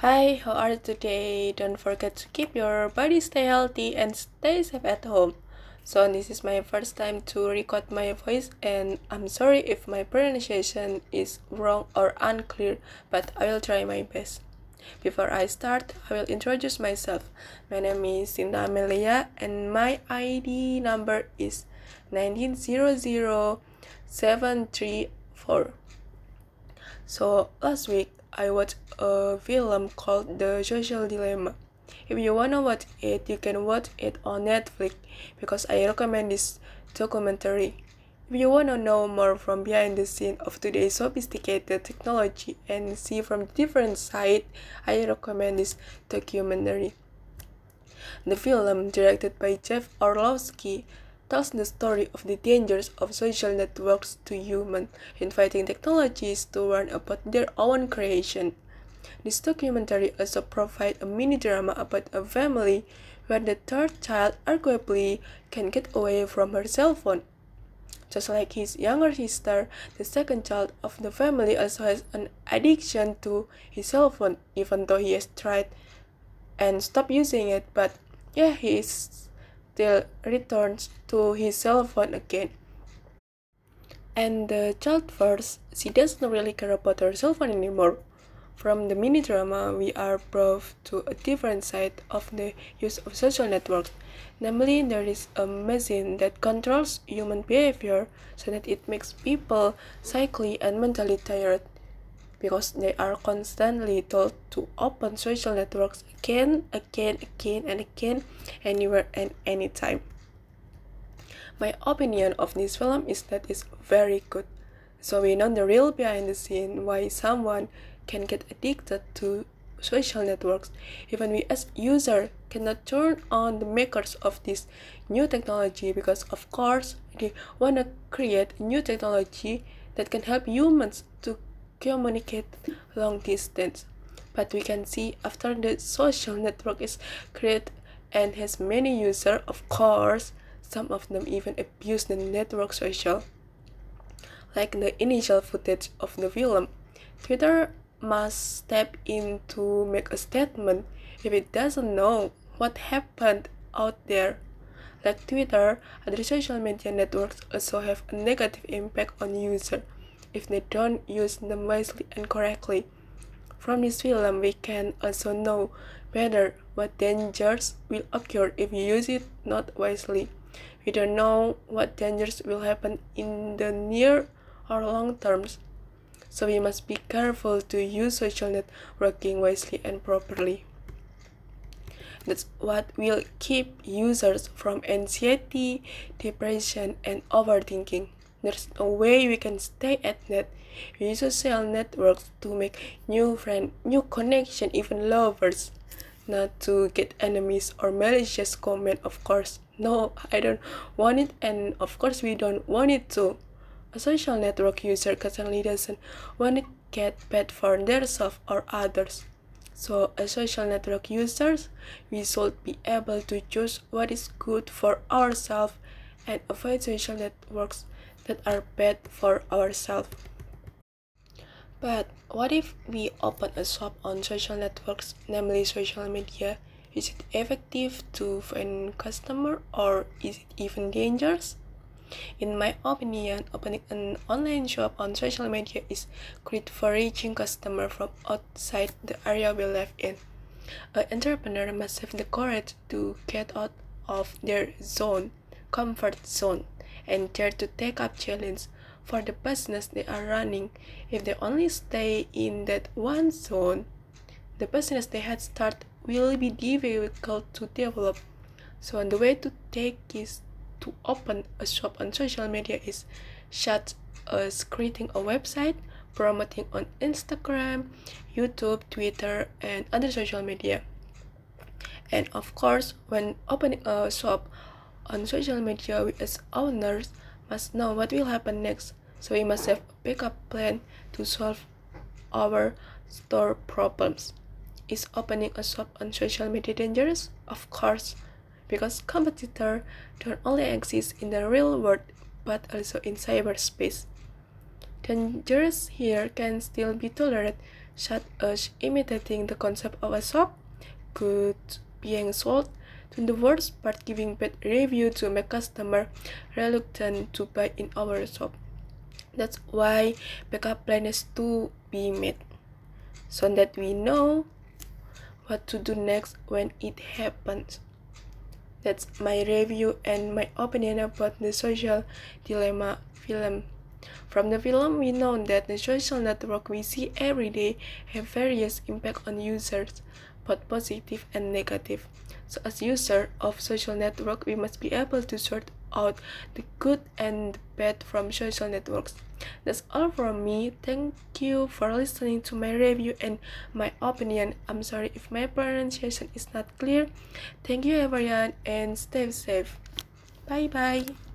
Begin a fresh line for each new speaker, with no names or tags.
Hi, how are you today? Don't forget to keep your body stay healthy and stay safe at home. So this is my first time to record my voice and I'm sorry if my pronunciation is wrong or unclear, but I will try my best. Before I start, I will introduce myself. My name is Sinta Amelia and my ID number is 1900734. So last week I watched a film called The Social Dilemma. If you wanna watch it, you can watch it on Netflix because I recommend this documentary. If you wanna know more from behind the scene of today's sophisticated technology and see from different side, I recommend this documentary. The film, directed by Jeff Orlowski, tells the story of the dangers of social networks to humans, inviting technologies to learn about their own creation. This documentary also provides a mini drama about a family where the third child arguably can get away from her cell phone. Just like his younger sister, the second child of the family also has an addiction to his cell phone, even though he has tried and stopped using it, but yeah, he still returns to his cell phone again. And the child first, she doesn't really care about her cell phone anymore. From the mini drama, we are brought to a different side of the use of social networks. Namely, there is a machine that controls human behavior so that it makes people psychically and mentally tired because they are constantly told to open social networks again, and again, anywhere and anytime. My opinion of this film is that it's very good. So we know the real behind the scene why someone can get addicted to social networks. Even we as user cannot turn on the makers of this new technology because of course they wanna create new technology that can help humans to communicate long distance. But we can see after the social network is created and has many users, of course, some of them even abuse the network social. Like the initial footage of the film, Twitter must step in to make a statement if it doesn't know what happened out there. Like Twitter, other social media networks also have a negative impact on users if they don't use them wisely and correctly. From this film, we can also know better what dangers will occur if you use it not wisely. We don't know what dangers will happen in the near or long terms, so we must be careful to use social networking wisely and properly. That's what will keep users from anxiety, depression, and overthinking. There's no way we can stay at net. We use social networks to make new friends, new connection, even lovers, not to get enemies or malicious comment, of course. No, I don't want it, and of course we don't want it to. A social network user certainly doesn't want to get bad for themselves or others. So, as social network users, we should be able to choose what is good for ourselves and avoid social networks that are bad for ourselves. But what if we open a shop on social networks, namely social media? Is it effective to find customer or is it even dangerous? In my opinion, opening an online shop on social media is great for reaching customers from outside the area we live in. An entrepreneur must have the courage to get out of their comfort zone, and dare to take up challenge for the business they are running. If they only stay in that one zone, the business they had started will be difficult to develop. So the way to take is to open a shop on social media is such as creating a website, promoting on Instagram, YouTube, Twitter, and other social media. And of course, when opening a shop on social media, we as owners must know what will happen next. So we must have a backup plan to solve our store problems. Is opening a shop on social media dangerous? Of course, because competitors don't only exist in the real world but also in cyberspace. Dangerous here can still be tolerated such as imitating the concept of a shop, goods being sold, to the worst part giving bad review to make customer reluctant to buy in our shop. That's why backup plan is to be made, so that we know what to do next when it happens. That's my review and my opinion about the social dilemma film. From the film, we know that the social network we see every day have various impact on users, both positive and negative. So as user of social network, we must be able to sort out the good and the bad from social networks. That's all from me. Thank you for listening to my review and my opinion. I'm sorry if my pronunciation is not clear. Thank you everyone and stay safe. Bye bye.